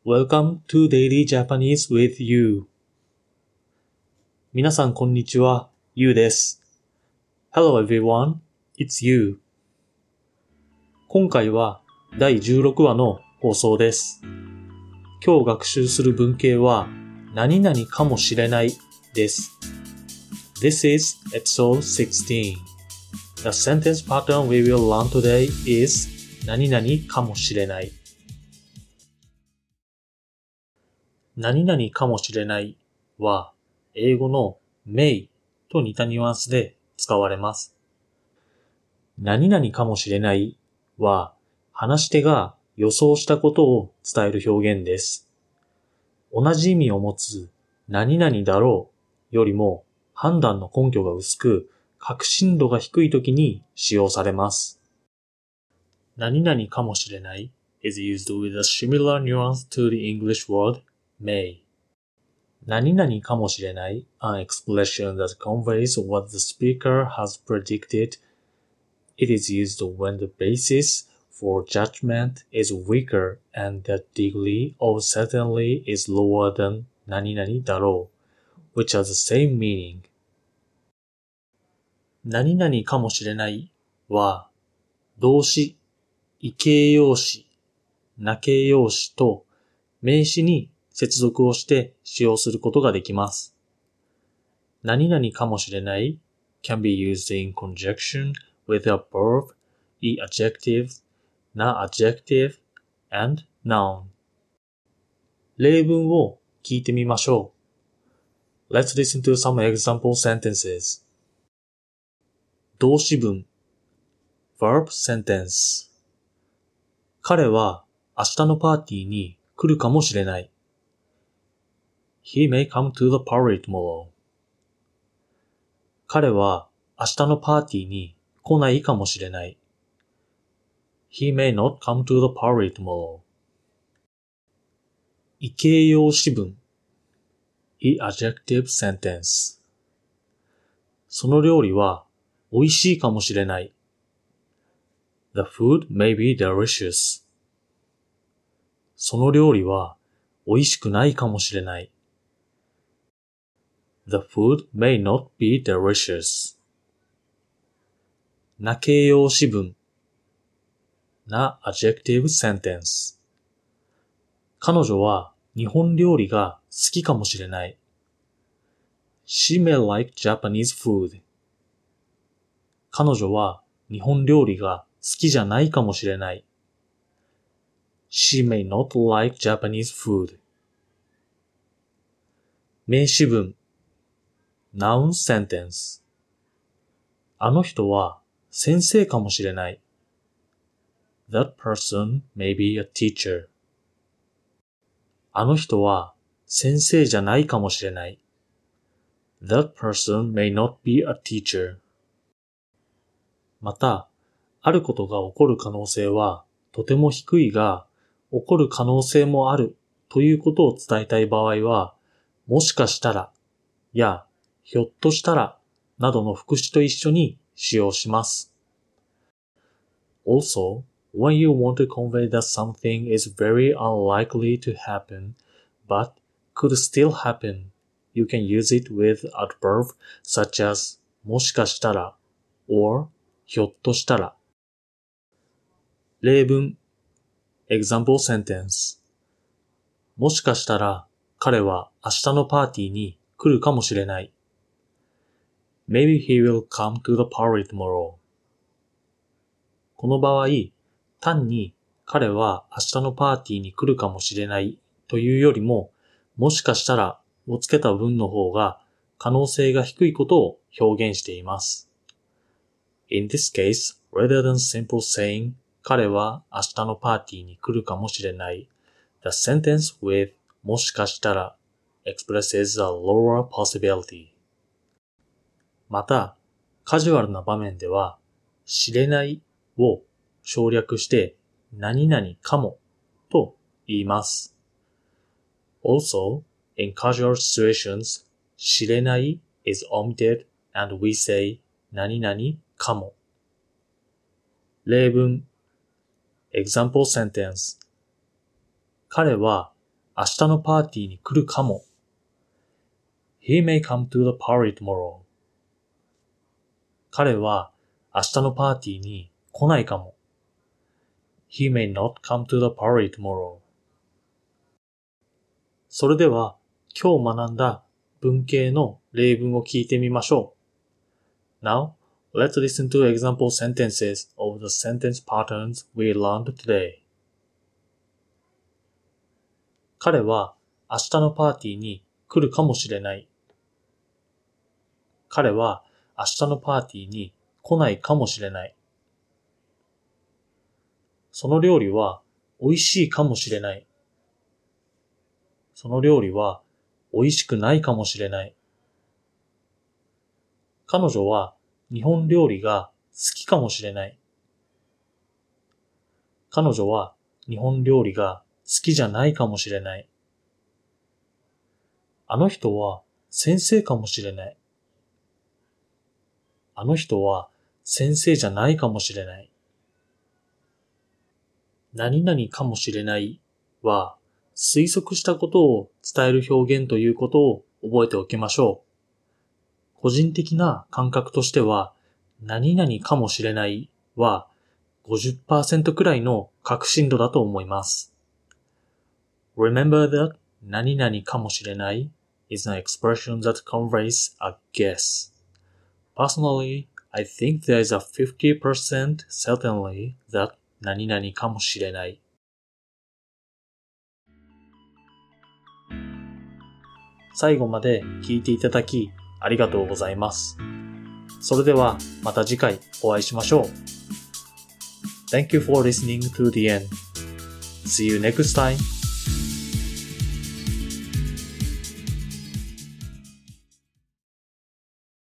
Welcome to Daily Japanese with You. 皆さんこんにちは、ゆうです。Hello everyone, it's You. 今回は第16話の放送です。今日学習する文型は何々かもしれないです。This is episode 16. The sentence pattern we will learn today is 何々かもしれない。何々かもしれないは英語の may と似たニュアンスで使われます。何々かもしれないは話し手が予想したことを伝える表現です。同じ意味を持つ何々だろうよりも判断の根拠が薄く確信度が低いときに使用されます。何々かもしれない is used with a similar nuance to the English word may. 何々かもしれない an expression that conveys what the speaker has predicted. It is used when the basis for judgment is weaker and the degree of certainty is lower than 何々だろう which has the same meaning. 何々かもしれないは動詞、意形容詞、名形容詞と名詞に接続をして使用することができます。何々かもしれない can be used in conjunction with a verb, e adjective, na adjective, and noun. 例文を聞いてみましょう。Let's listen to some example sentences. 動詞文 verb sentence 彼は明日のパーティーに来るかもしれない。He may come to the party tomorrow. 彼は明日のパーティーに来ないかもしれない。He may not come to the party tomorrow. 意形容詞文 e adjective sentence その料理は美味しいかもしれない。The food may be delicious. その料理は美味しくないかもしれない。The food may not be delicious. な形容詞文な adjective sentence 彼女は日本料理が好きかもしれない。She may like Japanese food. 彼女は日本料理が好きじゃないかもしれない。She may not like Japanese food. 名詞文 Noun sentence あの人は先生かもしれない。That person may be a teacher. あの人は先生じゃないかもしれない。That person may not be a teacher. また、あることが起こる可能性はとても低いが、起こる可能性もあるということを伝えたい場合は、もしかしたらやひょっとしたらなどの副詞と一緒に使用します。Also, when you want to convey that something is very unlikely to happen, but could still happen, you can use it with adverb such as もしかしたら or ひょっとしたら。例文 Example sentence もしかしたら彼は明日のパーティーに来るかもしれない。Maybe he will come to the party tomorrow. この場合、単に彼は明日のパーティーに来るかもしれないというよりも、もしかしたらをつけた文の方が可能性が低いことを表現しています。In this case, rather than simple saying 彼は明日のパーティーに来るかもしれない、the sentence with もしかしたら expresses a lower possibility. また、カジュアルな場面では、知れないを省略して何々かもと言います。Also, in casual situations, 知れない is omitted and we say 何々かも。例文 Example sentence 彼は明日のパーティーに来るかも。He may come to the party tomorrow. 彼は明日のパーティーに来ないかも。He may not come to the party tomorrow. それでは今日学んだ文型の例文を聞いてみましょう。Now, let's listen to example sentences of the sentence patterns we learned today. 彼は明日のパーティーに来るかもしれない。彼は明日のパーティーに来ないかもしれない。その料理は美味しいかもしれない。その料理は美味しくないかもしれない。彼女は日本料理が好きかもしれない。彼女は日本料理が好きじゃないかもしれない。あの人は先生かもしれない。あの人は先生じゃないかもしれない。何々かもしれないは推測したことを伝える表現ということを覚えておきましょう。個人的な感覚としては何々かもしれないは 50% くらいの確信度だと思います。Remember that 何々かもしれない is an expression that conveys a guess. Personally, I think there is a 50% certainly that 何々かもしれない。最後まで聞いていただきありがとうございます。それではまた次回お会いしましょう。Thank you for listening to the end. See you next time.